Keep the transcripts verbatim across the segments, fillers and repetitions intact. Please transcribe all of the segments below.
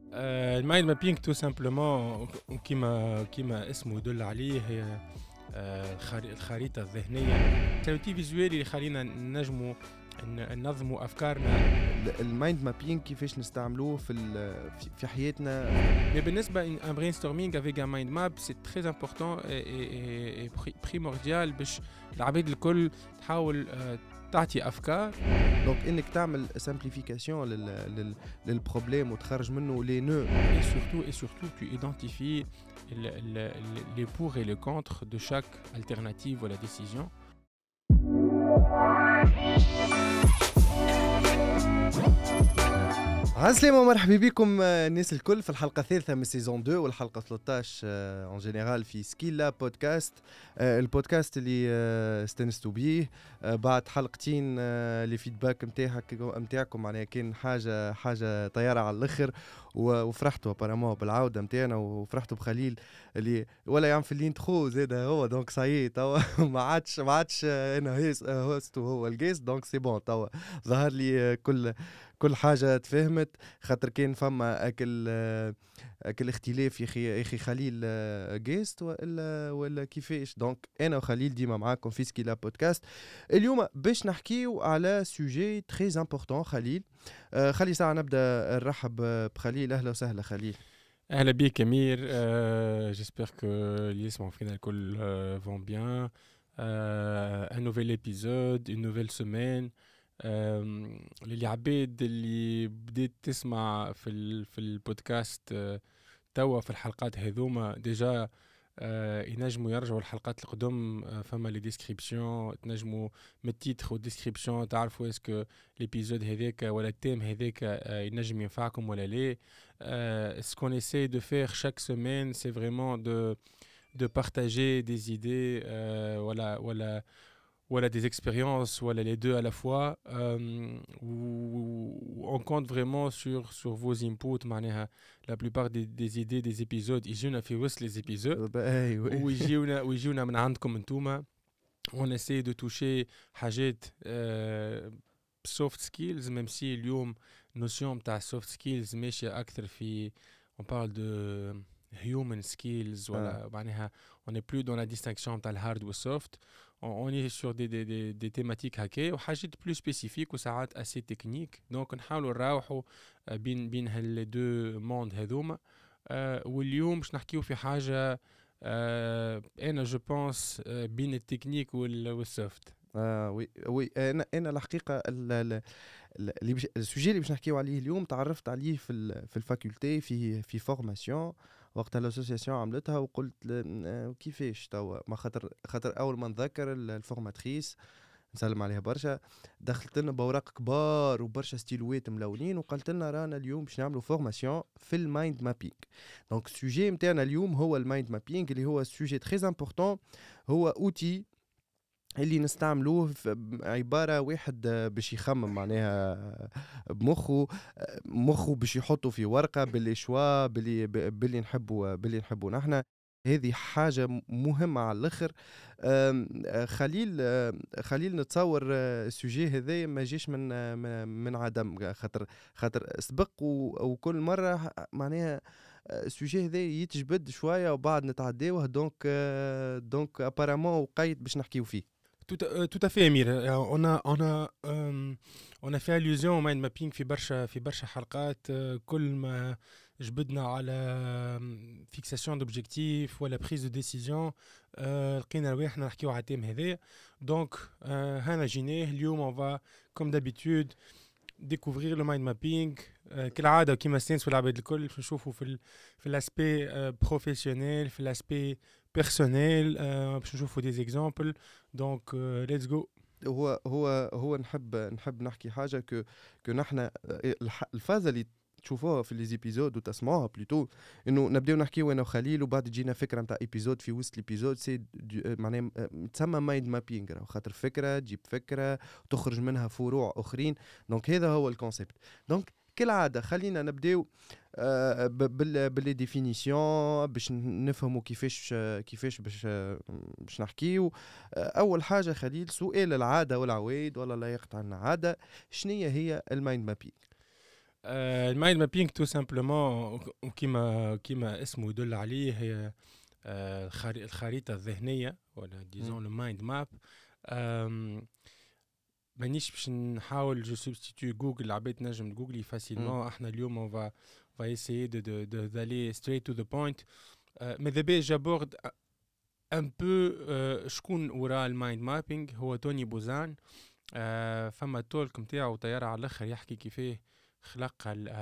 آه، المايند مابينج تو سامبلومون كيما كيما اسمه يدل عليه هي آه، الخري- الخريطة الذهنية تنوتي فيزوالي اللي يخلينا نجموا ن- ننظموا أفكارنا. المايند مابينج كيفاش نستعملوه في ال- في- في حياتنا. Mais بالنسبة un brainstorming avec un mind map c'est très important et, et, et pri- primordial باش العباد الكل تحاول آه، تعطي أفكار. دونك انك تعمل سامبليفيكاسيون لل لل للبروبليم وتخرج منه لي نو. Et surtout, et surtout, tu identifies le- le- le- les pour et les contre de chaque alternative ou la décision. عسلامة ومرحبا بكم الناس الكل في الحلقة الثالثة من سيزون اثنين والحلقة ثلاثة عشر اون جينيرال في سكيلا بودكاست. البودكاست اللي استنستوا بيه بعد حلقتين لي فيدباك نتاعك نتاعكم معناها كان حاجة حاجة طيارة على الآخر وفرحتوا ابارامون بالعودة نتاعنا وفرحتوا بخليل اللي ولا يعمل في الانترو زاد هو دونك صايي توا ما عادش ما عادش انا هوست وهو الجيست دونك سي بون توا ظهر لي كل كل حاجة تفهمت خاطر كان فما اكل اكل اختلاف يا اخي يا اخي خليل جيست ولا ولا كيفاش. دونك انا وخليل ديما معاكم في سكيلا بودكاست. اليوم باش نحكيو على سوجي تري امبورطون. خليل آه خلي ساعة نبدا نرحب بخليل. اهلا وسهلا خليل. اهلا بيك امير. euh, j'espère que اللي يسمعوا فينا الكل euh, vont bien. euh, un nouvel épisode, une nouvelle semaine. euh, اللي عباد اللي بديت تسمع في ال في البودكاست euh, توا في الحلقات هذوما ديجا آه ينجموا يرجعوا الحلقات القدم. آه فما لي ديسكريبسيون تنجموا من التيتر والديسكريبسيون تعرفوا اسكو ليبيزود هذاك ولا التيم هذاك آه ينجم ينفعكم ولا لا. Euh, ce qu'on essaie de faire chaque semaine, c'est vraiment de, de partager des idées, euh, voilà, voilà, voilà, des expériences, voilà, les deux à la fois. Euh, où, où on compte vraiment sur, sur vos inputs. معناها la plupart des, des idées des épisodes, يجونا في وسط les épisodes. ويجيونا ويجيونا من عندكم انتوما. On essaie de toucher حاجات euh, soft skills, même si اليوم notion بتاع soft skills ماشية أكثر في on parle de human skills ولا معناها on n'est plus dans la distinction بتاع الهارد والsoft. on, on est sur des, des, des, des thématiques هكا وحاجات plus spécifiques وساعات assez techniques. donc نحاولوا نراوحوا بين بين هال deux mondes هذوما. أه واليوم باش نحكيو في حاجة أه أنا جو بونس أه بين التكنيك والسوفت. اه وي وي انا انا الحقيقه اللي بش... السوجي اللي باش نحكيو عليه اليوم تعرفت عليه في ال... في الفاكولتي في في فورماسيون وقت الاسوسياسيون عملتها وقلت ل... كيفاش توا ما خاطر خاطر اول ما نذكر الفورماتريس نسلم عليها برشا دخلت لنا بوراق كبار وبرشا ستيلوات ملونين وقالت لنا رانا اليوم باش نعملوا فورماسيون في المايند مابينغ. دونك السوجي نتاعنا اليوم هو المايند مابينغ اللي هو سوجي تري امبورطون. هو اوتي اللي نستعملوه عبارة واحد باش يخمم معناها بمخه مخه باش يحطه في ورقة باللي شوا باللي باللي نحبه باللي نحبه نحنا. هذه حاجة مهمة على الآخر. خليل خليل نتصور السوجي هذا ما جيش من من عدم خاطر خاطر سبق وكل مرة معناها السوجي هذا يتجبد شوية وبعد نتعداوه. دونك دونك ابارامون وقيت باش نحكيو فيه. Tout à, euh, tout à fait Amir. Euh, on a on a euh, on a fait allusion au mind mapping في برشا في برشا حلقات. euh, كل ما جبدنا على fixation d'objectifs ولا prise de décision euh, لقينا رواحنا نحكيو على التيم هذايا. donc euh, هنا جيناه اليوم on va comme d'habitude découvrir le mind mapping. euh, كالعادة كيما استنسوا العباد الكل باش نشوفوا في ال في الاسبي بروفيسيونيل في الاسبي بيرسونيل باش نشوفوا دي زيكزامبل. دونك ليتس جو. هو هو هو نحب نحب نحكي حاجه ك ك نحن الفازه اللي تشوفوها في ليزيبيزود وتسمعوها بلوتو انه نبداو نحكيو انا وخليل وبعد تجينا فكره نتاع ايبيزود في وسط ليبيزود سي معناها تسمى مايند مابينغ خاطر فكره تجيب فكره وتخرج منها فروع اخرين. دونك هذا هو الكونسيبت. دونك كالعاده خلينا نبداو آه باللي ديفينيسيون باش نفهموا كيفاش كيفاش باش باش نحكيو. آه اول حاجه خليل سؤال العاده والعوايد ولا لا يقطع عنا عاده شنية هي المايند مابينغ؟ المايند مابينج تو سامبلومون وكيما كيما اسمه يدل عليه هي آه، الخري- الخريطة الذهنية ولا ديزون لو مايند ماب. مانيش باش نحاول جو سبستيتيو جوجل، العباد تنجم جوجلي فاسيلمون. احنا اليوم اون فا فا ايسيي دو دو دو دالي ستريت تو ذا بوينت. ماذا بيا جابورد ان بو شكون وراء المايند مابينج. هو توني بوزان. آه، فما تولك نتاعو طياره على الاخر يحكي كيفاه خلق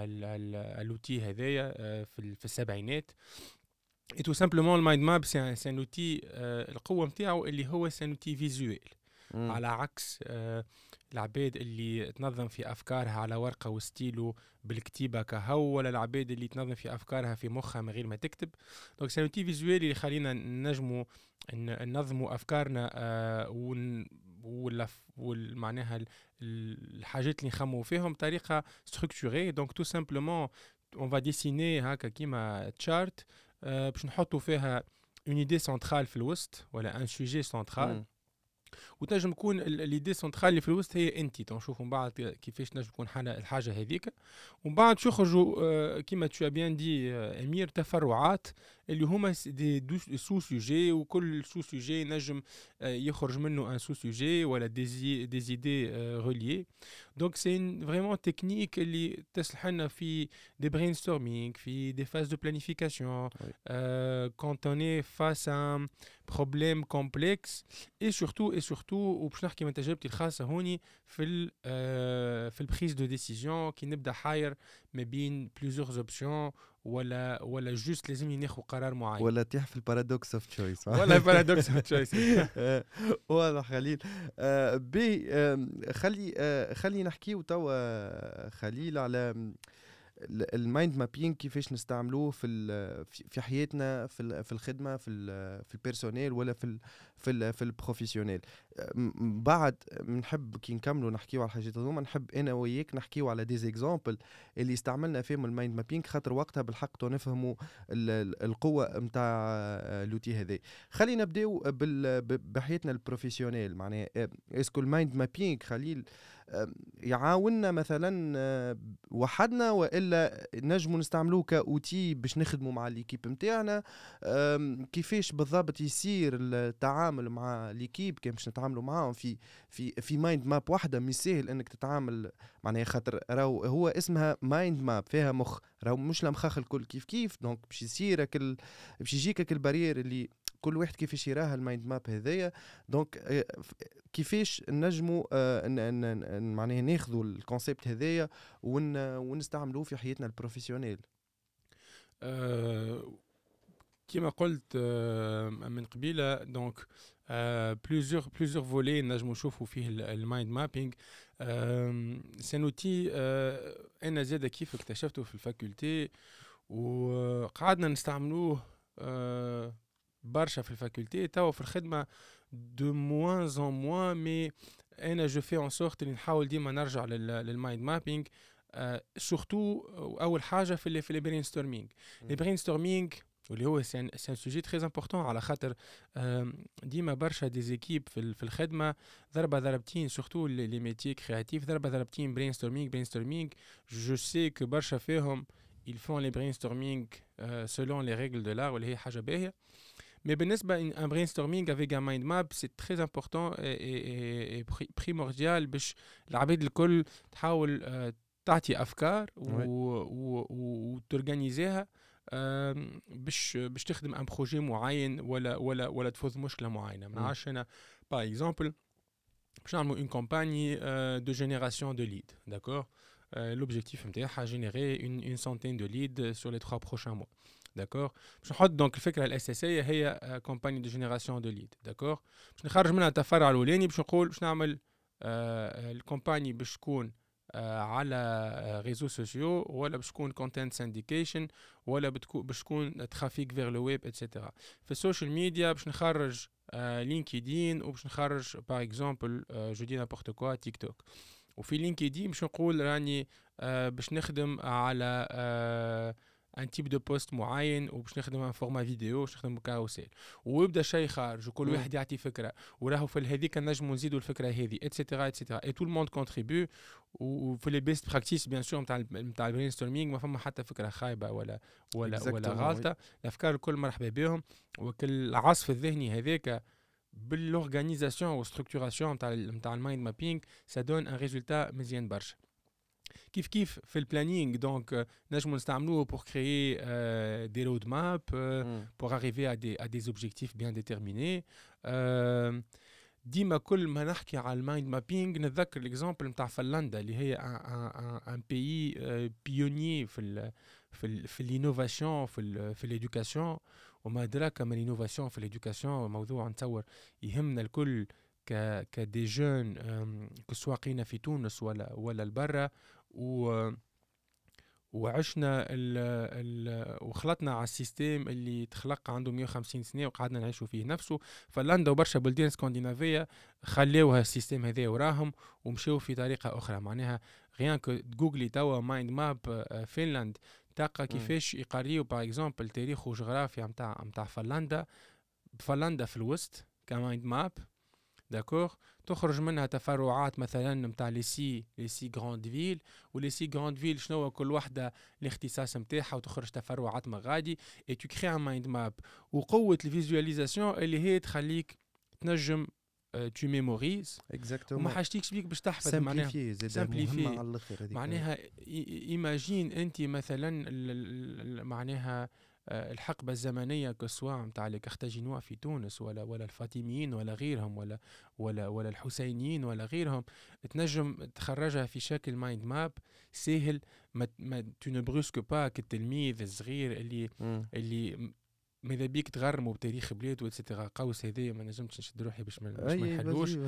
اللوتي هذايا آه، في ال- في السبعينات. اي تو سامبلومون المايند ماب سي ان اوتي، القوه نتاعو اللي هو سي ان اوتي فيزويل، على عكس آه، العباد اللي تنظم في افكارها على ورقه وستيلو بالكتيبه كهو، ولا العباد اللي تنظم في افكارها في مخها من غير ما تكتب. دونك سي ان اوتي فيزويل اللي يخلينا نجموا ن- ننظموا افكارنا آه، ون ولا والمعناها الحاجات اللي نخمو فيهم بطريقه ستركتوري. دونك تو سامبلومون اون فا ديسيني هكا كيما تشارت باش نحطوا فيها اون ايدي سنترال في الوسط ولا ان سوجي سنترال، وتنجم تكون ليدي سنترال اللي في الوسط هي انت. تنشوفوا من بعد كيفاش نجم تكون حاجه الحاجه هذيك، ومن بعد شو يخرجوا آه، كيما تو بيان دي آه، امير تفرعات اللي هما دي سو سوجي، وكل سو سوجي نجم آه، يخرج منه ان سو سوجي ولا دي دي زيدي ريليي. دونك سي فريمون تكنيك اللي تصلح لنا في دي برين ستورمينغ، في دي فاز دو بلانيفيكاسيون كونت اون اي فاس ان بروبليم كومبلكس. اي سورتو اي سورتو وباش نحكي من تجربتي الخاصه هوني في ال آه، في البريز دو ديسيزيون كي نبدا حاير ما بين بليزيور اوبسيون ولا ولا جوست لازمني ناخذ قرار معين، ولا تيح في البارادوكس اوف تشويس ولا بارادوكس اوف تشويس. واضح خليل. آه، بي آم، خلي آه، خلي نحكيو توا آه، خليل على ال- المايند مابينج كيفاش نستعملوه في ال- في في حياتنا، في ال- في الخدمه، في ال- في البيرسونيل ولا في ال في ال في البروفيسيونيل. م- بعد نحب كي نكملوا نحكيو على الحاجات هذوما، نحب انا وياك نحكيو على دي زيكزامبل اللي استعملنا فيهم المايند مابينج، خاطر وقتها بالحق تو نفهموا ال- ال- القوه نتاع لوتي هذا. خلينا نبداو بال- ب- بحياتنا البروفيسيونيل. معناها اسكو المايند مابينج خليل آه، يعاوننا مثلا آه، وحدنا، والا نجموا نستعملوه كاوتي باش نخدموا مع ليكيب نتاعنا؟ كيفاش بالضبط يصير التعامل مع ليكيب كي باش نتعاملوا معاهم في في في مايند ماب واحده؟ مش سهل انك تتعامل معناها، خاطر راهو هو اسمها مايند ماب فيها مخ، راهو مش المخاخ الكل كيف كيف. دونك باش يصير كل باش يجيك البارير اللي كل واحد كيفاش يراها المايند ماب هذايا. دونك آه، كيفاش نجموا آه، ن- ن- ن- معناها ناخذوا الكونسيبت هذايا ون ونستعملوه في حياتنا البروفيسيونيل. آه، كما قلت آه، من قبيله. دونك بليزيور بليزيور فولي نجمو نشوفوا فيه المايند مابينج. سي اوتي انا زاد كيف اكتشفته في الفاكولتي وقعدنا نستعملوه آه، برشا في الفاكولتي. توا في الخدمه دو موان ان موان، مي انا جو في ان سورت اللي نحاول ديما نرجع للمايند مابينج. سورتو اول حاجه في ال في البرين ستورمينغ. البرين ستورمينغ واللي هو سي ان سوجي تري امبورطون، على خاطر آم، ديما برشا دي زيكيب في ال- في الخدمه ضربه ضربتين، سورتو لي ميتي كرياتيف، ضربه ضربتين برين ستورمينغ برين ستورمينغ. جو سي كو برشا فيهم ils font les brainstorming euh, selon les règles de l'art واللي هي حاجه باهيه. Mais بالنسبة un brainstorming avec un mind map c'est très important et, et, et pri- primordial باش العباد الكل تحاول آه، تعطي أفكار Ouais. وتورجانيزيها باش باش تخدم ان بروجي معين ولا ولا ولا تفوز مشكلة معينة. ما Mm. نعرفش أنا باغ اكزومبل باش نعملوا une campagne euh, de génération de leads, d'accord. Euh, l'objectif نتاعها générer une, une centaine de leads sur les trois prochains mois, d'accord. باش نحط دونك الفكره الاساسيه هي كومباني دو جينيراسيون دو ليد، داكور. باش نخرج منها التفرع الاولاني باش نقول باش نعمل آه الكومباني باش تكون آه على ريزو سوسيو، ولا باش تكون كونتنت سانديكيشن، ولا بتكون باش تكون ترافيك فيغ لو ويب اتسيتيرا. في السوشيال ميديا باش نخرج آه لينكدين، وباش نخرج باغ اكزومبل آه جو دي نابورت كوا تيك توك. وفي لينكدين باش نقول راني آه باش نخدم على آه ان تيب دو بوست معين وباش نخدم فورما فيديو باش نخدم كاروسيل ويبدا شيء خارج وكل واحد يعطي فكره وراهو في هذيك نجموا نزيدوا الفكره هذه اتسيتيرا اتسيتيرا اي تو الموند كونتريبيو وفي لي بيست براكتيس بيان سور نتاع نتاع البرين ستورمينغ ما فما حتى فكره خايبه ولا ولا ولا غلطه الافكار الكل مرحبا بهم وكل العصف الذهني هذاك بالorganisation والstructuration نتاع نتاع المايند مابينغ ça donne un résultat مزيان برشا كيف كيف في البلانينغ دونك نجمو نستعملوه pour créer euh, des roadmaps euh, mm. pour arriver à des à des objectifs bien déterminés euh, ديما كل ما نحكي على المايند مابينغ نتذكر الاكزامبل نتاع فنلندا اللي هي ان بيي بيونيي في ال في ال في الانوفاسيون في ال في الادوكاسيون وما أدراك ما الانوفاسيون في الادوكاسيون موضوع نتصور يهمنا الكل ك كدي جون كسواقينا في تونس ولا ولا البرة و وعشنا ال ال وخلطنا على السيستم اللي تخلق عنده مية وخمسين سنة وقعدنا نعيشوا فيه نفسه. فنلندا وبرشا بلدان اسكندنافية خليوها السيستم هذا وراهم ومشيوا في طريقة أخرى. معناها غيان كو جوجلي توا مايند ماب فنلند تلقى كيفاش يقريوا باغ اكزومبل تاريخ وجغرافيا نتاع نتاع فنلندا. فنلندا في الوسط كمايند ماب داكور، تخرج منها تفرعات مثلا نتاع لي سي لي سي غراند فيل، ولي سي غراند فيل شنو كل وحده الاختصاص نتاعها وتخرج تفرعات مغادي اي تو كري ان مايند ماب. وقوه الفيزواليزاسيون اللي هي تخليك تنجم تو ميموريز اكزاكتومون وما حاجتيكش بيك باش تحفظ. معناها سامبليفي معناها ايماجين انت مثلا معناها الحقبة الزمنية كسواء نتاع لي كارتاجينوا في تونس ولا ولا الفاطميين ولا غيرهم ولا ولا ولا الحسينيين ولا غيرهم، تنجم تخرجها في شكل مايند ماب سهل. ما ما تو نو بروسك با كالتلميذ الصغير اللي م. اللي ماذا بيك تغرموا بتاريخ بلاد واتسيتيرا. قوس هذايا ما نجمتش نشد روحي باش ما نحلوش.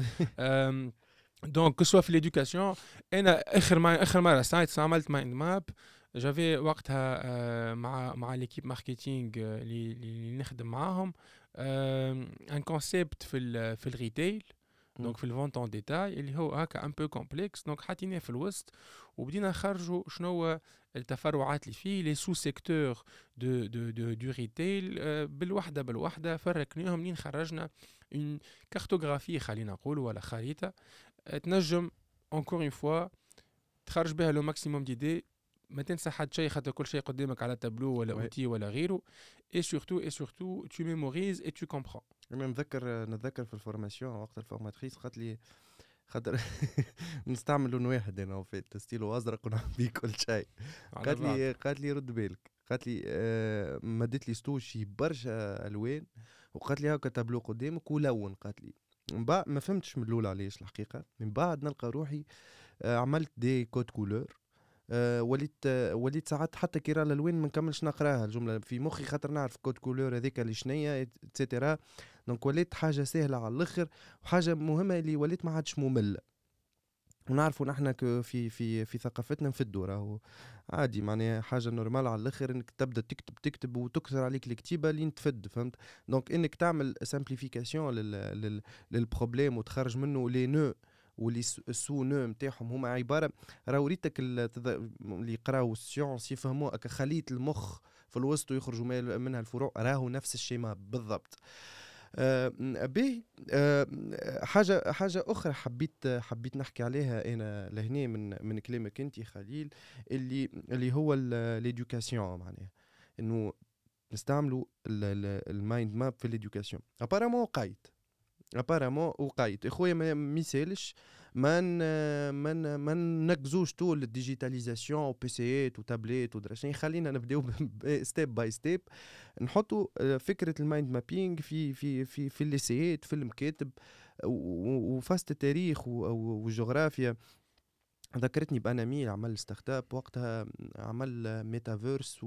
دونك كسوا في ليدوكاسيون انا اخر ما اخر مره ساعات عملت مايند ماب جافي وقتها آه مع مع ليكيب ماركتينغ اللي اللي نخدم معاهم ان كونسيبت في ال في الريتيل دونك في الفونت اون ديتاي اللي هو هكا ان بو كومبلكس. دونك حطيناه في الوسط وبدينا نخرجوا شنو التفرعات اللي فيه لي سو سيكتور دو دو دو دو ريتيل آه بالوحده بالوحده فرقناهم لين خرجنا اون كارتوغرافي خلينا نقول ولا خريطه تنجم انكور اون فوا تخرج بها لو ماكسيموم ديدي. ما تنسى حد شيء خاطر كل شيء قدامك على تابلو ولا اوتي ولا غيره. اي سورتو اي سورتو تو ميموريز اي تو كومبرون. انا نتذكر نتذكر في الفورماسيون وقت الفورماتريس قالت لي خاطر نستعمل لون واحد انا في ستيلو ازرق ونعمل بيه كل شيء. قالت لي قالت لي رد بالك، قالت لي آه مدت لي ستوشي برشا الوان وقالت لي هاكا تابلو قدامك ولون. قالت لي من بعد ما فهمتش من الاول علاش الحقيقه، من بعد نلقى روحي آه عملت دي كود كولور. أه وليت أه وليت ساعات حتى كي راه الالوان ما نكملش نقراها الجمله في مخي خاطر نعرف كود كولور هذيك اللي شنيا اتسيتيرا. دونك وليت حاجه سهله على الاخر وحاجه مهمه اللي وليت ما عادش ممله. ونعرفوا نحن في في في ثقافتنا نفدوا راهو عادي معناها حاجه نورمال على الاخر انك تبدا تكتب تكتب وتكثر عليك الكتيبه لين تفد. فهمت؟ دونك انك تعمل سامبليفيكاسيون لل للبروبليم وتخرج منه لي نو واللي السو نو نتاعهم هما عباره راهو ريتك اللي يقراو السيونس يفهموا هكا خليط المخ في الوسط ويخرجوا منها الفروع راهو نفس الشيما بالضبط. آه به آه حاجه حاجه اخرى حبيت حبيت نحكي عليها انا لهنا من من كلامك انت خليل اللي اللي هو ليدوكاسيون. معناها انه نستعملوا المايند ماب في ليدوكاسيون. ابارامون وقيت ابارامون وقايت اخويا ما ميسالش ما من ما نكزوش طول الديجيتاليزاسيون وبيسيات وتابليت ودراشين. خلينا نبداو ستيب باي ستيب نحطوا فكره المايند مابينغ في في في في الليسيات في المكاتب وفاست التاريخ والجغرافيا. ذكرتني باناميل عمل ستارت اب وقتها عمل ميتافيرس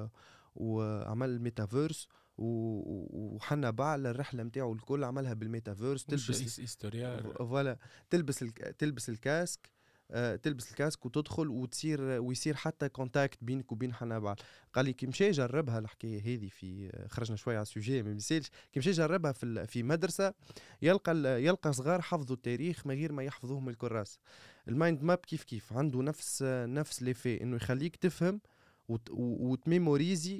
وعمل ميتافيرس وحنا بعل الرحله نتاعو الكل عملها بالميتافيرس. تلبس فوالا تلبس الك... تلبس الكاسك آه، تلبس الكاسك وتدخل وتصير ويصير حتى كونتاكت بينك وبين حنا بعل. قال لي كي مشى جربها الحكايه هذه في خرجنا شويه على السوجي ما مثالش كي مشى جربها في في مدرسه يلقى يلقى صغار حفظوا التاريخ ما غير ما يحفظوه من الكراس. المايند ماب كيف كيف عنده نفس نفس ليفي انه يخليك تفهم وتميموريزي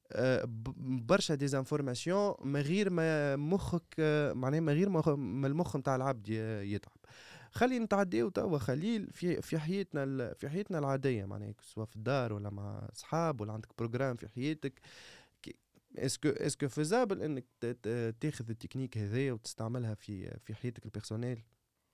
برشا ديزانفورماسيون من غير ما مخك معناها من غير ما المخ نتاع العبد يتعب. خلي نتعديو توا خليل في في حياتنا في حياتنا العاديه معناها سواء في الدار ولا مع اصحاب ولا عندك بروجرام في حياتك. اسكو اسكو فيزابل انك تاخذ التكنيك هذايا وتستعملها في في حياتك البيرسونيل؟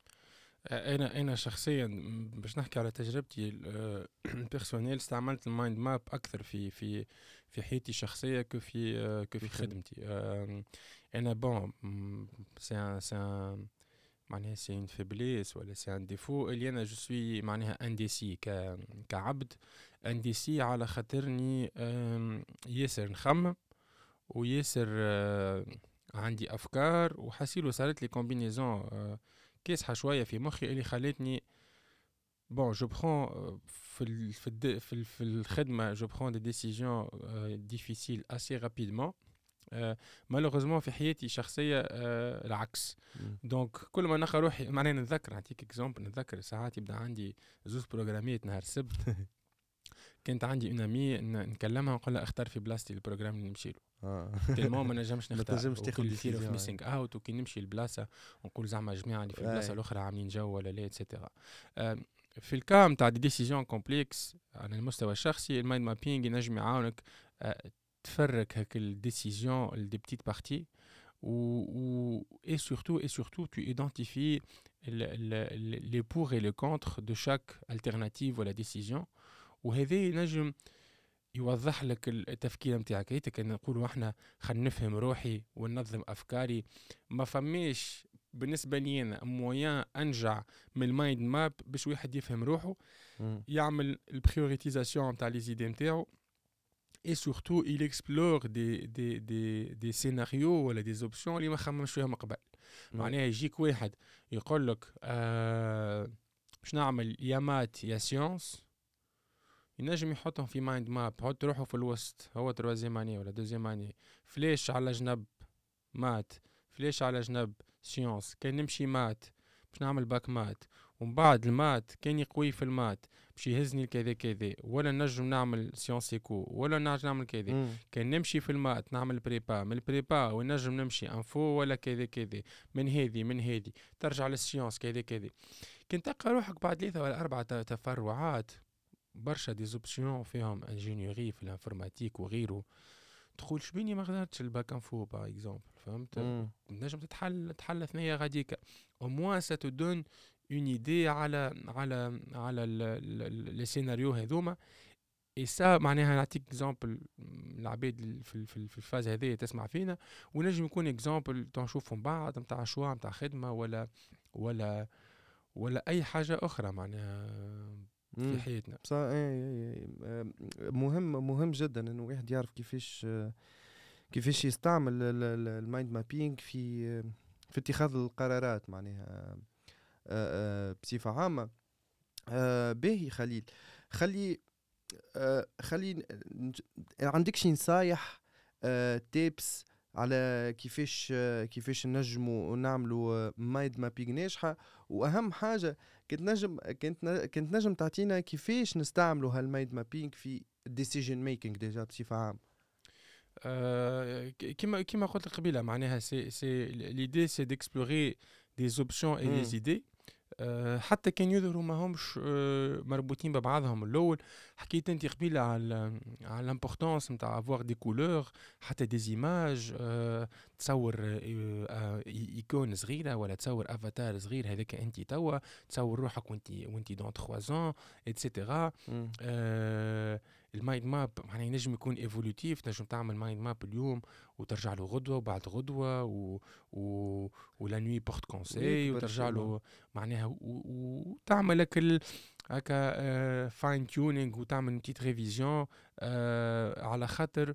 انا انا شخصيا باش نحكي على تجربتي البيرسونيل استعملت المايند ماب اكثر في في في حياتي الشخصيه كفي كفي خدمتي. انا بون سي سي معناها سي ان فيبليس ولا سي ان ديفو اللي انا جو سوي معناها انديسي ك كعبد انديسي على خاطرني ياسر نخمم وياسر عندي افكار وحسيلو صارت لي كومبينيزون كاسحه شويه في مخي اللي خلتني بون جو برون في ال في ال في, ال في الخدمه جو برون دي ديسيجن ديفيسيل اسي رابيدمون. مالوغوزمون في حياتي الشخصيه العكس. دونك كل ما نلقى روحي معناها نتذكر نعطيك اكزومبل نتذكر ساعات يبدا عندي زوز بروغراميات نهار السبت كانت عندي اون امي نكلمها نقول لها اختار في بلاصتي البروجرام اللي نمشي له. اه تيلمون ما نجمش نختار ما تنجمش تاخذ ديسيجن في ميسينغ اوت وكي نمشي لبلاصه نقول زعما جماعه اللي في البلاصه الاخرى عاملين جو ولا لا اتسيتيرا. في الكام تاع دي ديسيجن كومبلكس على المستوى الشخصي المايند مابينغ ينجم يعاونك تفرك هاك الديسيجن لدي بتيت بارتي و و اي سورتو اي سورتو تو ايدنتيفي لي بور اي لي كونتر دو شاك التيرناتيف ولا ديسيجن وهذا ينجم يوضح لك التفكير نتاعك. هيك كان نقولوا احنا خلينا نفهم روحي وننظم افكاري. ما فماش بالنسبه لي انا مويان انجع من المايند ماب باش واحد يفهم روحه م. يعمل البريوريتيزاسيون نتاع لي زيدي نتاعو اي سورتو il explore دي دي دي دي سيناريو ولا دي زوبسيون اللي ما خممش فيهم قبل. معناها يجيك واحد يقول لك آه باش نعمل يا مات يا سيونس ينجم يحطهم في مايند ماب حط روحه في الوسط هو تروازيام اني ولا دوزيام اني فليش على جنب مات فليش على جنب سيونس كان نمشي مات باش نعمل باك مات ومن بعد المات كان يقوي في المات باش يهزني كذا كذا ولا نجم نعمل سيونس ايكو ولا نجم نعمل كذا كان نمشي في المات نعمل بريبا من البريبا ونجم نمشي انفو ولا كذا كذا من هذه من هذه ترجع للسيونس كذا كذا. كنت تلقى روحك بعد ثلاثة ولا أربعة تفرعات برشا دي زوبسيون فيهم انجينيوري في الانفورماتيك وغيره تقول شبيني ما قدرتش الباك انفو باغ اكزومبل فهمت نجم تتحل تحل ثنيه غاديكا او موان سا تو دون اون ايدي على على على لي سيناريو هذوما اي سا معناها نعطيك اكزومبل العباد في في الفاز هذه تسمع فينا ونجم يكون اكزومبل تنشوفهم بعض نتاع شوا نتاع خدمه ولا ولا ولا اي حاجه اخرى معناها في حياتنا. صح. اي مهم مهم جدا انه واحد يعرف كيفاش كيفاش يستعمل المايند مابينغ في في اتخاذ القرارات معناها بصفه عامه. باهي خليل خلي خلي عندك شي نصايح تيبس على كيفاش كيفاش نجموا نعملوا مايند مابينغ ناجحه واهم حاجه كنت نجم كنت كنت نجم تعطينا كيفاش نستعملوا هالمايند مابينغ في الديسيجن ميكينغ ديجا بصفه عامه. أه كما كما قلت قبيله معناها سي سي ليدي سي ديكسبلوري دي زوبسيون اي دي زيدي أه حتى كان يظهروا ما همش أه مربوطين ببعضهم. الاول حكيت انت قبيله على على الامبورطونس نتاع افوار دي كولور حتى دي زيماج أه تصور أه ايكون صغيره ولا تصور افاتار صغير هذاك انت توا تصور روحك وانت وانت دون ثلاثة ans ايتترا. أه المايند ماب معناها ينجم يكون ايفولوتيف تنجم تعمل مايند ماب اليوم وترجع له غدوه وبعد غدوه و و ولا نوي بورت كونساي وترجع له معناها وتعمل لك ال... هكا فاين تيونينغ وتعمل بتيت ريفيزيون آه على خاطر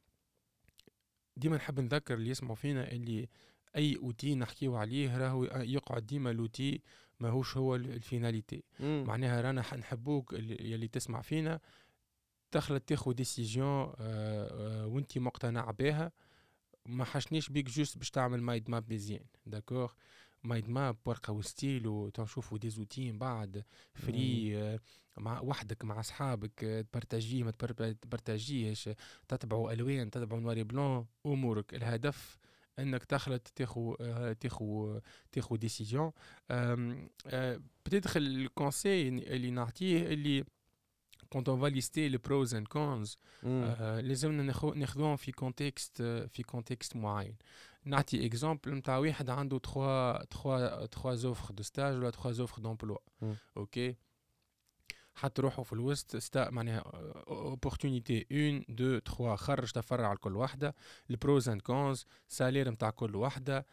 ديما نحب نذكر اللي يسمعوا فينا اللي اي اوتي نحكيو عليه راهو يقعد ديما لوتي ماهوش هو الفيناليتي. معناها رانا نحبوك اللي تسمع فينا تخلط تاخذ ديسيجن وانت مقتنع بها ما حشنيش بيك جوست باش تعمل مايند ماب مزيان داكور مايند ماب ورقه وستيلو تنشوفوا دي زوتي من بعد فري آه، مع وحدك مع اصحابك آه، تبارتاجيه ما تبر- تبارتاجيهش، تتبعوا الوان تتبعوا نواري بلون امورك. الهدف انك تخلط تاخو آه، تاخو تاخو ديسيجن. بتدخل الكونسي اللي نعطيه اللي quand on va lister les pros and cons مم. آه لازمنا ناخو- ناخذوهم في كونتكست في كونتكست معين. نعطي اكزامبل نتاع واحد عنده تخوا تخوا تخوا زوفر دو ستاج ولا تخوا زوفر دومبلوا. مم. اوكي، حط روحه في الوسط ستا معناها اوبورتونيتي واحد اثنين ثلاثة، خرج تفرع على كل واحده، البروز اند كونز، سالير نتاع كل واحده،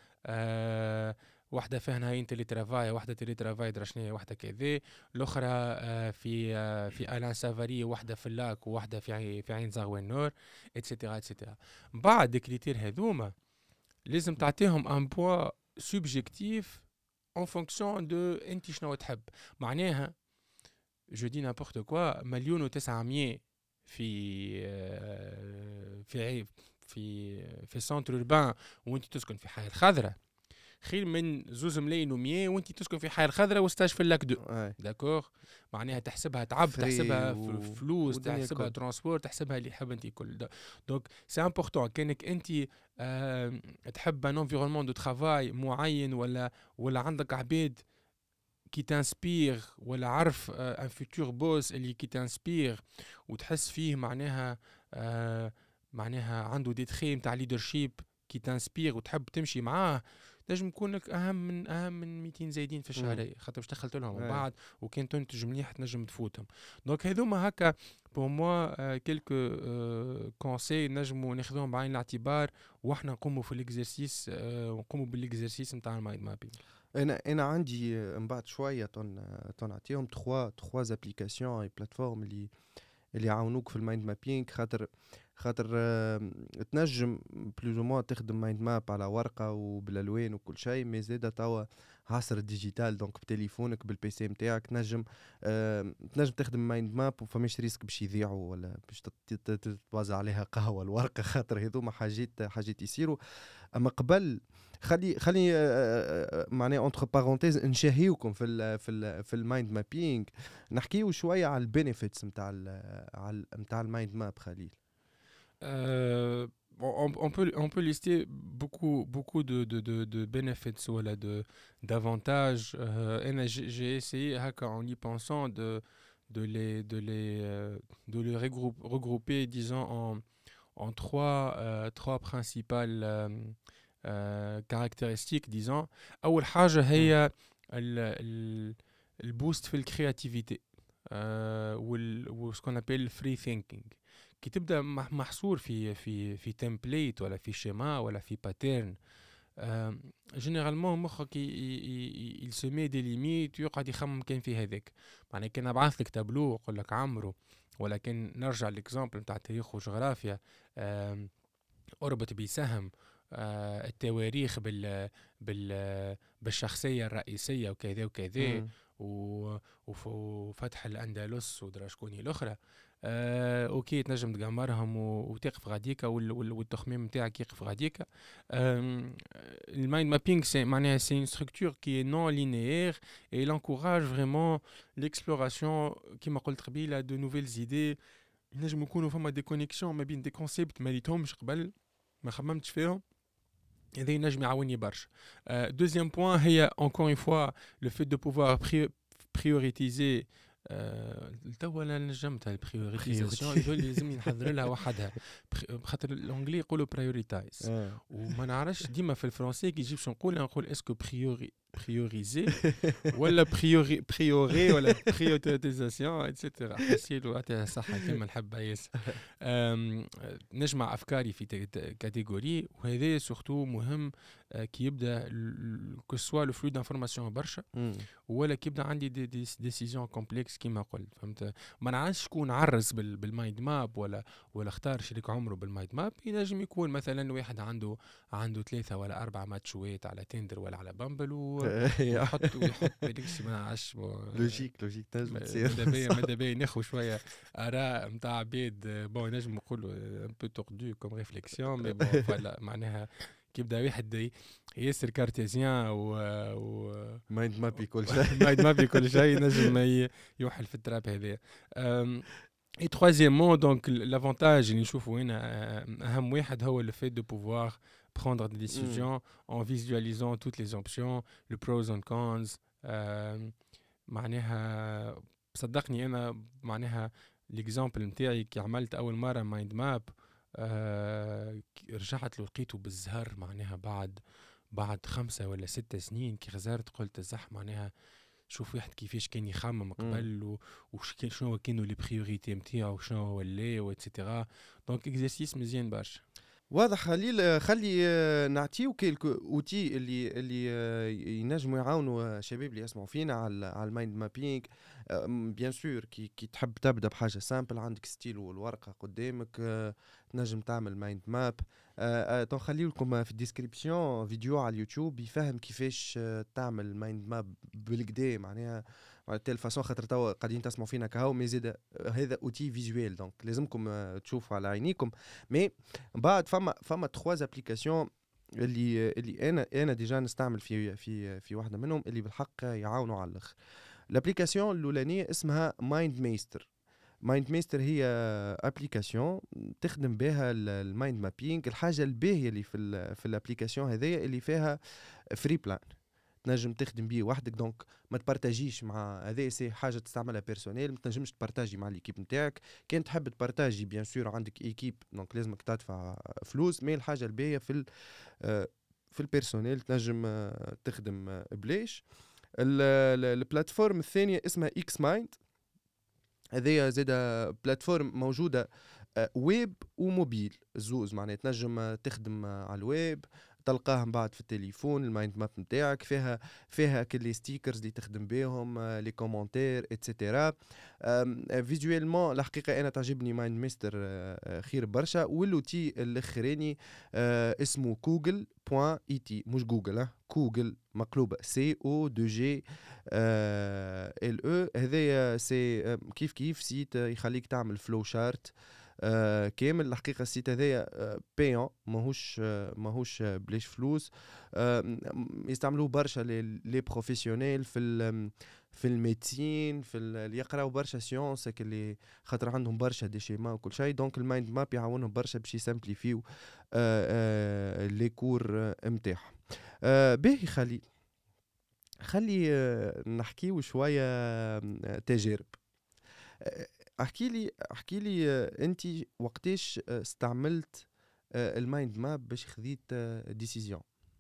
آه واحده فيها نهاية تيلي ترافاي، واحده تيلي ترافاي درا شنيا، واحده كذا، الاخرى آه في آه في الان سافاري، واحده في اللاك وواحده في عين في عين زغوان نور، اتسيتيرا اتسيتيرا. بعد الكريتير هذوما لازم تعطيهم ان بوا سوبجيكتيف اون فونكسيون دو انت شنو تحب. معناها جو دي نابورت كوا مليون وتسعمية في آه، في عي- في في سنتر اوربان وانت تسكن في حي الخضراء، خير من زوز ملايين ومية وانت تسكن في حي الخضراء وستاج في اللاك دو. اي داكوغ، معناها تحسبها تعب، فري تحسبها و... ف- فلوس، والدنيا تحسبها كل. ترانسبور، تحسبها اللي حاب انت كل ده. دونك سي امبورطون كانك انت آه تحب ان انفيرونمون دو ترافاي معين، ولا ولا عندك عباد qui t'inspire ولا عارف ان فيتور بوس اللي كي تانسبير وتحس فيه معناها آه معناها عنده دي تخي نتاع ليدرشيب كي تانسبير وتحب تمشي معاه، نجم يكون لك اهم من اهم من مئتين زايدين في الشهريه، خاطر باش دخلت لهم من اي بعد وكان تنتج مليح تنجم تفوتهم. دونك هذوما هكا بور موا كيلكو كونساي نجموا ناخذوهم بعين الاعتبار واحنا نقوموا في الاكزرسيس آه ونقوموا بالاكزرسيس نتاع المايند مابينغ. انا انا عندي آه، من بعد شويه تن تنعطيهم تخوا تخوا ابليكاسيون اي بلاتفورم اللي اللي يعاونوك في المايند مابينغ. خاطر خاطر آه، تنجم بلوز او موان تخدم مايند ماب على ورقه وبالالوان وكل شيء، مي زاده توا عصر الديجيتال، دونك بتليفونك بالبي سي نتاعك تنجم آه، تنجم تخدم مايند ماب وفماش ريسك باش يضيعوا ولا باش تت- تت- تتوزع عليها قهوه الورقه، خاطر هذوما حاجات حاجات يصيروا. اما قبل خلي خلي آه، آه، معناها اونتر بارونتيز نشهيوكم في ال في ال في المايند مابينغ، نحكيو شويه على البينيفيتس نتاع على نتاع المايند ماب خليل. Euh, on, on peut, on peut lister beaucoup, beaucoup de, de, de, de benefits ou là, de, d'avantages. Euh, et j'ai j'ai essayé, haka, en y pensant, de, de, les, de, les, euh, de les regrouper, regrouper disons, en, en trois, euh, trois principales euh, euh, caractéristiques, disons. أول حاجة هي ال, ال, البوست في الكرياتيفيتي euh, وال, و ce qu'on appelle free thinking. كي تبدا مح- محصور في في في تمبليت ولا في شيما ولا في باترن، جينيرالمون مخك il se met des limites ويقعد يخمم كان في هذاك. معناها كان نبعث لك تابلو ويقول لك عمرو، ولكن نرجع للاكزامبل نتاع التاريخ وجغرافيا، آم، اربط بسهم آه، التواريخ بال بال بالشخصيه الرئيسيه وكذا وكذا، مم. و- وف- وفتح الاندلس ودرا شكون هي الاخرى. آه، اوكي تنجم تقمرهم و- وتقف غاديكا وال- وال- والتخميم نتاعك يقف غاديكا. آم، المايند مابينغ سي معناها سي une structure qui est non linéaire et il encourage vraiment l'exploration كما قلت قبيله de nouvelles idées. ينجم يكونوا فما دي كونيكسيون ما بين دي كونسيبت ما ريتهمش قبل ما خممتش فيهم، هذا ينجم يعاوني برشا. دوزيام بوان هي encore une fois le fait de pouvoir pri- prioriser. آه، توا انا نجمتها البريوريتيزاسيون يقول لي لازم نحضر لها وحدها، بخ- بخاطر الانجلي يقولوا برايوريتايز آه. وما نعرفش ديما في الفرنسي كي يجيب شو نقول نقول اسكو بريوري بريوريزي ولا بريوري بريوري ولا بريوريتيزاسيون اتسيتيرا. حسيت وقتها صح كلمه نحبها ياسر. أم، نجمع افكاري في ت- ت- كاتيجوري، وهذا سورتو مهم آه، كي يبدا كو سوا لو فلو دانفورماسيون برشا مم. ولا كي يبدا عندي دي دي ديسيزيون كومبلكس كيما قلت. فهمت؟ ما نعرفش شكون عرس بال بالمايند ماب ولا ولا اختار شريك عمره بالمايند ماب. ينجم يكون مثلا واحد عنده عنده ثلاثه ولا اربع ماتشوات على تندر ولا على بامبل و- ويحط ويحط بالكسي ما نعرفش لوجيك لوجيك تنجم تصير. ماذا بيا ماذا بيا ناخذ شويه اراء نتاع عباد بون نجم نقولوا ان بو توردو كوم ريفليكسيون مي بون فوالا معناها كيبدا واحد ي- ياسر كارتيزيان و, و... مايند مابي كل شيء. ما ما بكل شيء نجم ي- يوحل في التراب هذا. Et troisièmement, donc l- l'avantage اللي نشوفه هنا آه، أهم واحد هو le fait de pouvoir prendre des مم. décisions en visualisant toutes les options, le pros and cons. آه، معناها صدقني أنا معناها l'exemple نتاعي كي عملت أول مرة مايند ماب، رجعت له لقيته بالزهر معناها بعد بعد خمسة ولا ستة سنين كي غزرت قلت الزح معناها شوف واحد كيفاش كان يخمم مم. قبل و- وش كان شنو كانوا لي بريوريتي نتاعو شنو هو اللي واتسيتيرا. دونك اكزرسيس مزيان برشا. واضح خليل. آه، خلي آه، نعطيو كيلكو اوتي اللي اللي آه، ينجموا يعاونوا آه، شباب اللي يسمعوا فينا على على المايند مابينغ. بيان سور كي كي تحب تبدا بحاجه سامبل، عندك ستيل والورقه قدامك، آه، تنجم تعمل مايند ماب. تو نخليو لكم في الديسكريبسيون فيديو على اليوتيوب يفهم كيفاش آه، تعمل مايند ماب بالكدا، معناها على تيل فاسون، خاطر توا قاعدين تسمعوا فينا كهو مي زيد آه، هذا اوتي فيزوال، دونك لازمكم آه، تشوفوا على عينيكم. مي بعد فما فما تخوا ابليكاسيون اللي اللي انا انا ديجا نستعمل في في في واحده منهم اللي بالحق يعاونوا على الاخر. الابليكاسيون الاولانيه اسمها مايند ميستر. مايند ميستر هي ابليكاسيون تخدم بها المايند مابينج. الحاجه الباهيه اللي في ال في الابليكاسيون هذيا اللي فيها فري بلان، تنجم تخدم بيه وحدك، دونك ما تبارتاجيش مع هذا. سي حاجه تستعملها بيرسونيل، ما تنجمش تبارتاجي مع ليكيب نتاعك. كان تحب تبارتاجي بيان سور عندك ايكيب، دونك لازمك تدفع فلوس. مي الحاجه الباهيه في ال آه، في البيرسونيل تنجم آه، تخدم آه، بلاش. البلاتفورم الثانيه اسمها اكس مايند. هذه زاده بلاتفورم موجوده آه، ويب وموبيل الزوز، معناها تنجم آه، تخدم آه، على الويب، تلقاها من بعد في التليفون المايند ماب نتاعك. فيها فيها كل لي ستيكرز اللي تخدم بهم، آه، لي كومونتير اتسيتيرا. فيزوالمون الحقيقه انا تعجبني مايند ميستر آه، خير برشا. والوتي الاخراني آه، اسمه كوجل بوان اي تي، مش جوجل، ها كوجل مقلوبه سي او دو جي ال او. هذايا سي آه، كيف كيف سيت آه، يخليك تعمل فلو شارت آه كامل. الحقيقه السيت هذايا آه بيون، ماهوش آه ماهوش آه بلاش فلوس. آه م- يستعملوه برشا لي لي بروفيسيونيل في ال في الميديسين، في ال- اللي يقراو برشا سيونس هك، اللي خاطر عندهم برشا دي شيما وكل شيء. دونك المايند ماب يعاونهم برشا باش يسامبليفيو آه آه لي كور نتاعهم. آه باهي خلي خلي آه نحكيو شويه آه تجارب. آه، احكي لي احكي لي آه، انت وقتاش آه، استعملت آه، المايند ماب باش خذيت ديسيزيون؟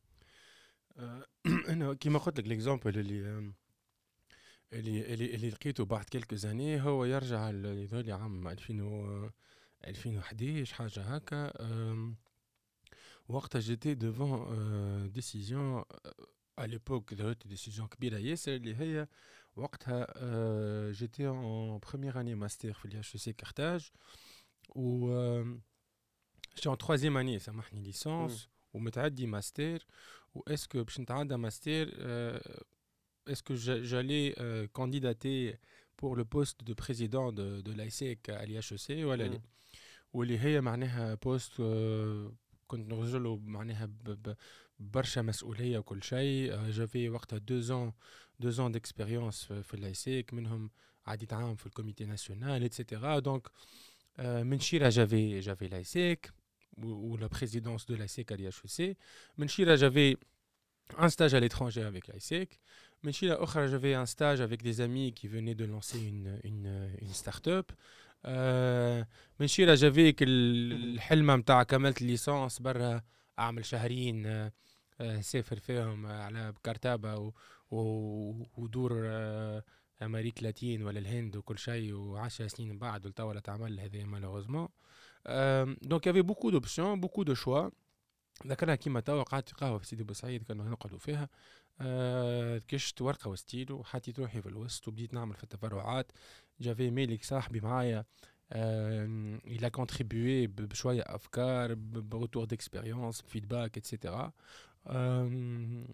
آه، انا كيما قلت لك ليكزامبل اللي آم، اللي اللي اللي لقيته بعد كلكو زاني هو يرجع لذولي عام ألفين و ألفين وحداش حاجه هكا. آم، وقتها جيتي devant ديسيزيون à l'époque درت ديسيزيون كبيره ياسر اللي هي وقتها آه، جيتي en première année master في الاتش سي كارتاج و آم، j'étais en troisième année سامحني مم. ليسانس ومتعدي ماستر. و est-ce que باش نتعدى ماستر euh, est-ce que j'a- j'allais euh, candidater pour le poste de président de, de l'I S E C à l'I H E C ولا لا. مم. واللي هي معناها بوست آه، كنت نرجله معناها ب- ب- برشا مسؤولية وكل شيء. آه، جافي وقتها deux ans deux ans d'expérience في في l'I S E C منهم عديت عام في الكوميتي ناسيونال اتسيتيرا. دونك آه، من شيرة جافي جافي l'I S E C ou la présidence de l'I S E C à l'I H E C. من شيرة j'avais un stage à l'étranger avec l'I S E C. من شيرة أخرى j'avais un stage avec des amis qui venaient de lancer une, une, une start-up. آه، من شيرة جافيك الحلم متاع كملت الليسانس برا أعمل شهرين آه، آه، سافر فيهم آه، على كارتابا و- و- ودور آه، أمريك لاتين ولا الهند وكل شيء، وعشر سنين من بعد ولتوا ولا تعمل هذا malheureusement. Euh, donc il y avait beaucoup d'options, beaucoup de choix. ذكرها كيما توا قعدت في قهوة في سيدي بوسعيد كانوا نقعدوا فيها. آه كشت ورقة وستيلو وحطيت روحي في الوسط وبديت نعمل في التفرعات. جافي ميلك صاحبي معايا آه il a contribué ب- بشوية أفكار بروتور ديكسبيريونس فيدباك اتسيتيرا. آه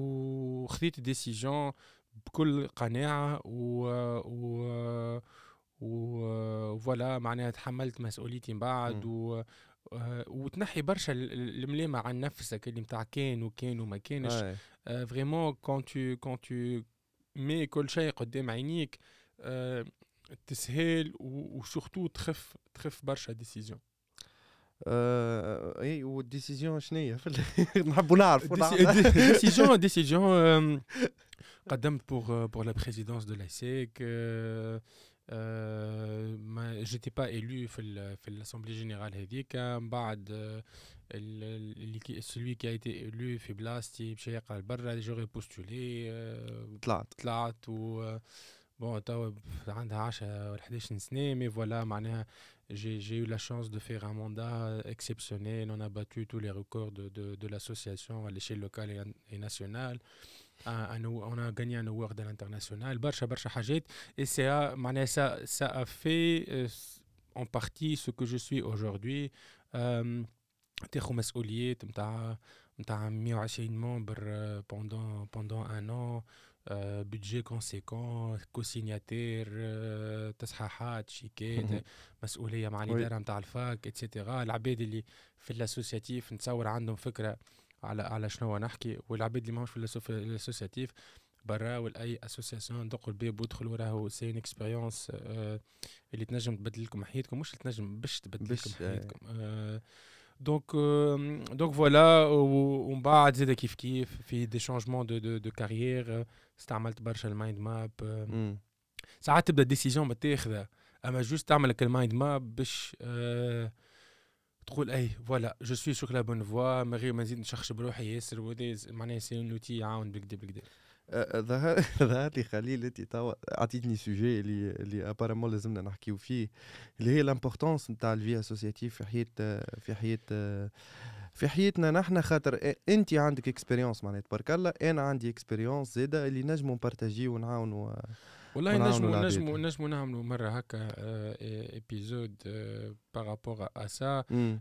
وخذيت ديسيجن بكل قناعة و, و وفوالا معناها تحملت مسؤوليتي من بعد مم. و آه، وتنحي برشا ال- ال- الملامة عن نفسك اللي متاع كان وكان وما كانش. اي فريمون كون تو كون تو مي كل شيء قدام عينيك، آه، تسهل وسورتو تخف تخف برشا ديسيزيون. آه، اي والديسيزيون شنية في ال- نحبوا نعرفوا نعم. ديسيزيون ديسيزيون قدمت pour pour la présidence de l'A S E C. euh, euh, ما j'étais pas élu في ال- في l'assemblée générale هذيك. من بعد آه، ال- ال- اللي كي- celui qui a été élu في بلاصتي مشى يقرا لبرا. j'aurais postulé. آه، طلعت طلعت و bon توا عندها عشرة ولا حداش سنة mais voilà معناها j'ai j'ai eu la chance de faire un mandat exceptionnel. On a battu tous les records de de de l'association à l'échelle locale et, et nationale. Un, un, on a gagné un award à l'international. برشا برشا حاجات. Et ça معناها ça ça a fait euh, en partie ce que je suis aujourd'hui. euh, تاخذ مسؤوليات نتاع نتاع مية وعشرين ممبر euh, pendant pendant un an. euh, budget conséquent, co-signataire, euh, تصحيحات شيكات، مسؤولية مع وي الإدارة نتاع الفاك اتسيتيرا. العباد اللي في الاسوسياتيف نتصور عندهم فكرة على على شنو نحكي، والعباد اللي ماهوش في الأسو- الاسوسياتيف برا ولا اي اسوسياسيون دقوا الباب وادخلوا راهو سي اون اكسبيريونس اللي تنجم تبدل لكم حياتكم، مش اللي تنجم باش تبدل لكم باش آه، حياتكم. آه، دونك آه، دونك فوالا. و- ومن بعد زاد كيف كيف في دي شانجمون دو دو دو كارير. استعملت برشا المايند ماب. آه، مم. ساعات تبدا ديسيزيون متاخذه، اما جوست تعمل لك المايند ماب باش آه، تقول اي فوالا جو سوي سور لا بون فوا، من غير ما نزيد نشخش بروحي ياسر. وهذا معناها سي اون اوتي يعاون بالكدا بالكدا. آه، ظهر ظهر لي خليل انت توا عطيتني سوجي اللي اللي ابارامون لازمنا نحكيو فيه، اللي هي لامبورطونس نتاع الفي اسوسياتيف في حياه في حياه في حياتنا نحنا. خاطر انت عندك اكسبيريونس معناتها تبارك الله، انا عندي اكسبيريونس زاده اللي نجموا نبارتاجيو ونعاونوا والله ونعاونوا نجموا العباد. نجموا نجموا نعملوا مرة هكا ايبيزود بارابور ا سا. امم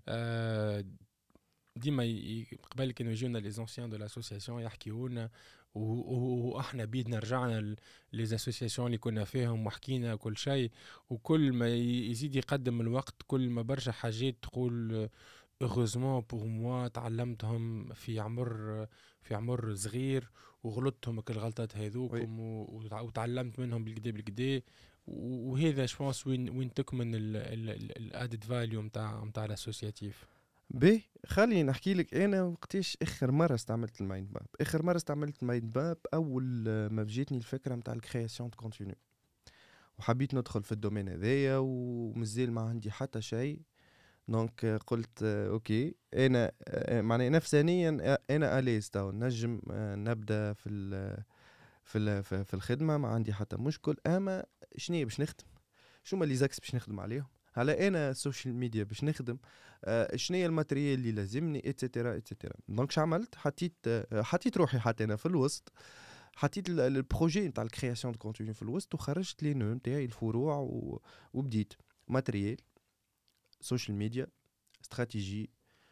ديما ي- قبل كانوا يجونا لي زونسيان دو لاسوسياسيون يحكيونا، و- و- واحنا بيدنا رجعنا لي زاسوسياسيون اللي كنا فيهم وحكينا كل شيء. وكل ما ي- يزيد يقدم الوقت كل ما برشا حاجات تقول heureusement pour moi تعلمتهم في عمر في عمر صغير، وغلطتهم كل غلطات وي هذوكم و- وتع- وتعلمت منهم بالكدا بالكدا. و- وهذا شونس وين وين تكمن الادد فاليو نتاع نتاع الاسوسياتيف. بي خليني نحكي لك انا وقتاش اخر مره استعملت المايند ماب. اخر مره استعملت المايند ماب اول آه، ما جاتني الفكره نتاع الكرياسيون دو كونتينيو، وحبيت ندخل في الدومين هذايا ومازال ما عندي حتى شيء. دونك آه، قلت آه، اوكي انا آه، معناها نفسانيا آه، انا اليز تو نجم آه، نبدا في ال في ال في في الخدمه، ما عندي حتى مشكل. اما شنو باش نخدم، شو هما لي زاكس باش نخدم عليهم، على انا السوشيال ميديا باش نخدم، آه شنو هي الماتريال اللي لازمني اتسيتيرا اتسيتيرا. دونك شعملت حطيت آه حطيت روحي حتى انا في الوسط، حطيت ال- البروجي نتاع الكرياسيون دو كونتوني في الوسط، وخرجت لي نو نتاعي الفروع و... وبديت ماتريال، سوشيال ميديا، استراتيجي،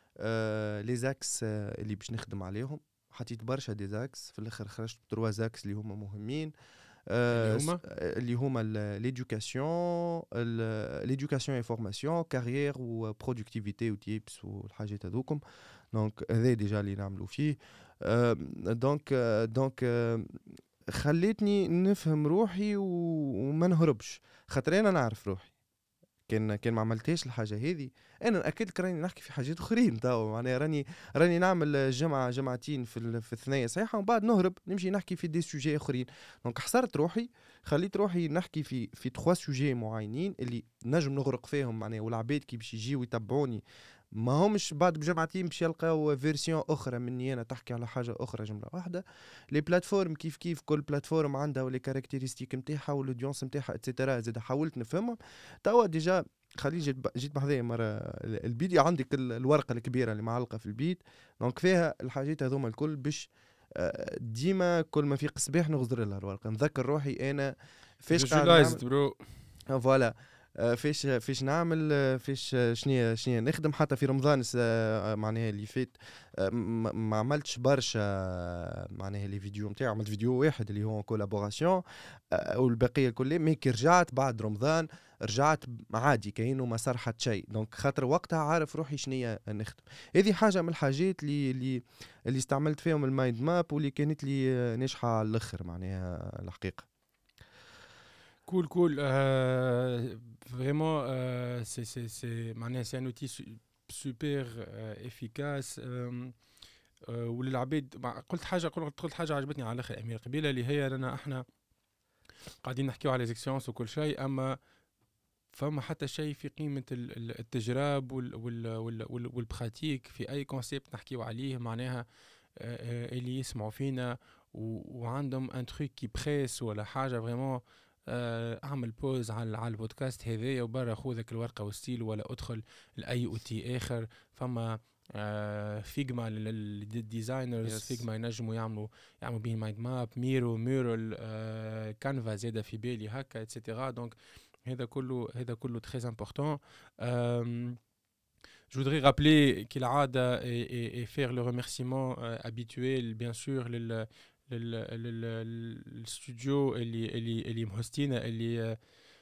آه لي زاكس آه اللي باش نخدم عليهم. حطيت برشا دي زاكس، في الاخر خرجت بتروا زاكس اللي هما مهمين، اللي آه، س- هما آه، اللي هما ليدوكاسيون ليدوكاسيون اي فورماسيون كارير وبرودكتيفيتي وتيبس والحاجات هذوكم. دونك هذا ديجا اللي نعملوا فيه. آه، دونك آه، دونك آه، خليتني نفهم روحي و- وما نهربش، خاطر انا نعرف روحي. كان كان ما عملتهاش الحاجه هذه انا اكيد كان راني نحكي في حاجات اخرين توا، معناها راني راني نعمل جمعه جمعتين في ال- في الثنايا صحيحه، ومن بعد نهرب نمشي نحكي في دي سوجي اخرين. دونك حصرت روحي، خليت روحي نحكي في في تخوا سوجي معينين اللي نجم نغرق فيهم معناها، والعباد كي باش يجيو يتبعوني ما همش بعد بجمعتين باش يلقاو فيرسيون اخرى مني انا تحكي على حاجه اخرى جمله واحده. لي بلاتفورم كيف كيف كل بلاتفورم عندها ولي كاركتيرستيك نتاعها والاودينس نتاعها اتسيتيرا. زاد حاولت نفهمهم توا ديجا. خليل جيت ب- جيت بحذايا مرة ال- البيديو عندك ال- الورقة الكبيرة اللي معلقة في البيت، دونك فيها الحاجات هذوما الكل باش آه، ديما كل ما في قصباح نغزر لها الورقة، نذكر روحي أنا فاش قاعد نعمل. visualized برو. آه، فوالا. فاش فاش نعمل فاش شنيا شنيا نخدم. حتى في رمضان معناها اللي فات ما عملتش برشا معناها لي فيديو نتاعي، عملت فيديو واحد اللي هو كولابوراسيون والبقيه الكل. مي كي رجعت بعد رمضان رجعت عادي كأنه ما صار حتى شيء. دونك خاطر وقتها عارف روحي شنيا نخدم. هذه حاجه من الحاجات اللي اللي اللي استعملت فيهم المايند ماب واللي كانت لي ناجحه على الاخر معناها الحقيقه. Cool, cool. Euh, vraiment, euh, c'est, c'est, c'est, معناها c'est un outil su- super euh, efficace. Euh, euh, وللعباد مع- قلت حاجة قلت قلت حاجة عجبتني على الآخر أمير قبيلة، اللي هي لنا احنا قاعدين نحكيو على زيكسيونس وكل شيء، أما فما حتى شيء في قيمة ال- ال- التجراب وال وال وال وال والبراتيك في أي كونسيبت نحكيو عليه. معناها آه، آه، اللي يسمعوا فينا و- وعندهم ان تروك كي بريس ولا حاجة فريمون، آه، اعمل بوز على على البودكاست هذايا وبرا خذك الورقة والستيل ولا ادخل لأي اوتي آخر. فما آه، فيجما للديزاينرز، Yes. فيجما ينجموا يعملوا يعملوا بيه مايند ماب، ميرو ميرال، آه، كانفا زاده في بالي هكا اتسيتيرا. دونك هذا كله هذا كله très important. Euh, je voudrais rappeler كالعادة et, et, et faire le remerciement euh, habituel bien sûr لل لل لل للستوديو اللي اللي اللي مهستينا، اللي آه،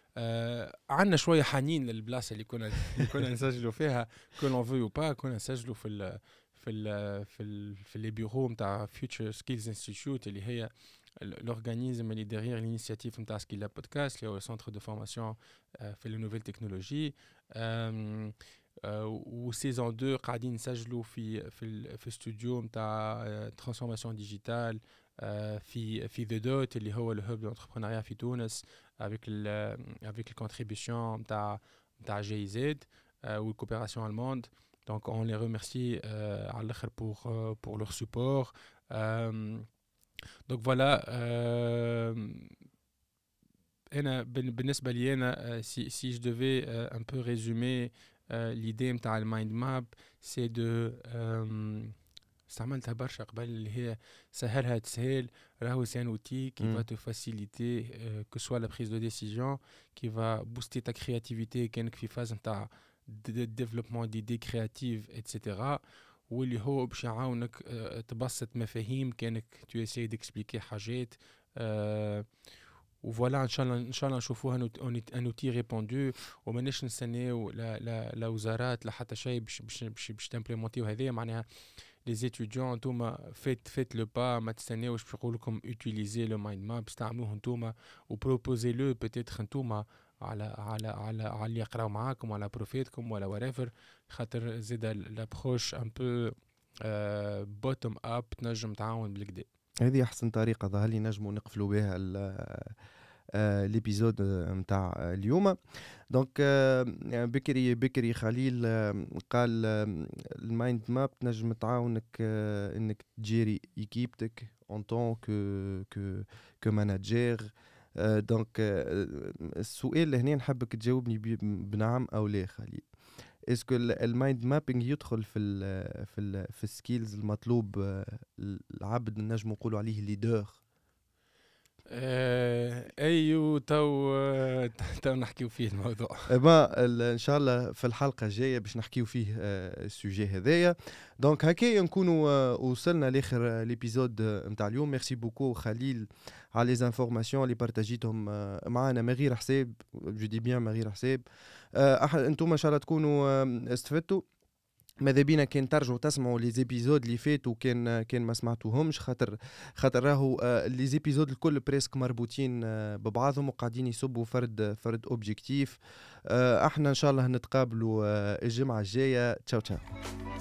آه عندنا شوية حنين للبلاصة اللي كنا اللي كنا نسجلوا فيها que l'on veut ou pas. كنا نسجلوا في ال في ال في ال في les bureaux نتاع Future Skills Institute اللي هي l'organisme اللي derrière l'initiative نتاع سكيلا بودكاست اللي هو centre de formation آه، في les nouvelles technologies. آم، آه، وسيزون اثنين قاعدين نسجلوا في في ال- في استوديو نتاع ترانسفورماسيون ديجيتال في في ذا دوت اللي هو الهب دونتربرونيا في تونس avec ال avec le contribution نتاع نتاع جي زد والكوبيراسيون allemande. Donc on les remercie euh, على الاخر pour euh, pour leur support. Euh, donc voilà. euh, أنا بن- بالنسبة لي أنا euh, si si je devais euh, un peu résumer euh, l'idée نتاع المايند ماب c'est de euh, استعملتها برشا قبل، اللي هي سهلها تسهل. راهو c'est un outil qui Mm. va te faciliter euh, que ce soit la prise de décision, qui va booster ta créativité كأنك في phase نتاع د- د- développement d'idées créatives et cetera. واللي هو باش يعاونك آه، تبسط مفاهيم كأنك tu essayes d'expliquer حاجات. آه، وفوالا ان شاء الله ان شاء الله نشوفوها ان اوتي ريبوندو، وماناش نستناو لا لا لا وزارات لا حتى شيء باش باش باش باش تمبليمونتيو هذايا. معناها لي زيتيديون نتوما فيت فيت لو با، ما تستناوش باش يقول لكم اوتيليزي لو مايند ماب، استعملوه نتوما وبروبوزي لو بيتيتر نتوما على على على على اللي يقراو معاكم ولا بروفيتكم ولا وريفر. خاطر زيد لابروش ان بو بوتوم اب تنجم تعاون بالكدا. هذه احسن طريقه ظهر لي نجموا نقفلوا بها ليبيزود نتاع اليوم. دونك آه، بكري بكري خليل آه، قال آه، المايند ماب تنجم تعاونك آه، انك تجيري ايكيبتك اون طون كو كو كو ماناجير. دونك آه، السؤال اللي هنا نحبك تجاوبني بي- بنعم او لا خليل. اسكو المايند مابينج يدخل في ال في ال في السكيلز المطلوب آه، العبد نجم نقولوا عليه ليدر؟ آه، ايو تو آه، تو نحكيو فيه الموضوع. ما ال- ان شاء الله في الحلقه الجايه باش نحكيو فيه آه، السوجي هذايا. دونك هكايا نكونوا آه، وصلنا لاخر ليبيزود نتاع اليوم. ميرسي بوكو خليل على لي زانفورماسيون اللي بارتاجيتهم آه، معنا من غير حساب. جو دي بيان من غير حساب. آه، أح- انتم ان شاء الله تكونوا آه، استفدتوا. ماذا بينا كان ترجعوا تسمعوا لي زيبيزود اللي فاتوا كان كان ما سمعتوهمش، خاطر خاطر راهو آه، لي زيبيزود الكل بريسك مربوطين آه، ببعضهم وقاعدين يصبوا فرد فرد اوبجيكتيف. آه، احنا ان شاء الله نتقابلوا آه، الجمعه الجايه. تشاو تشاو.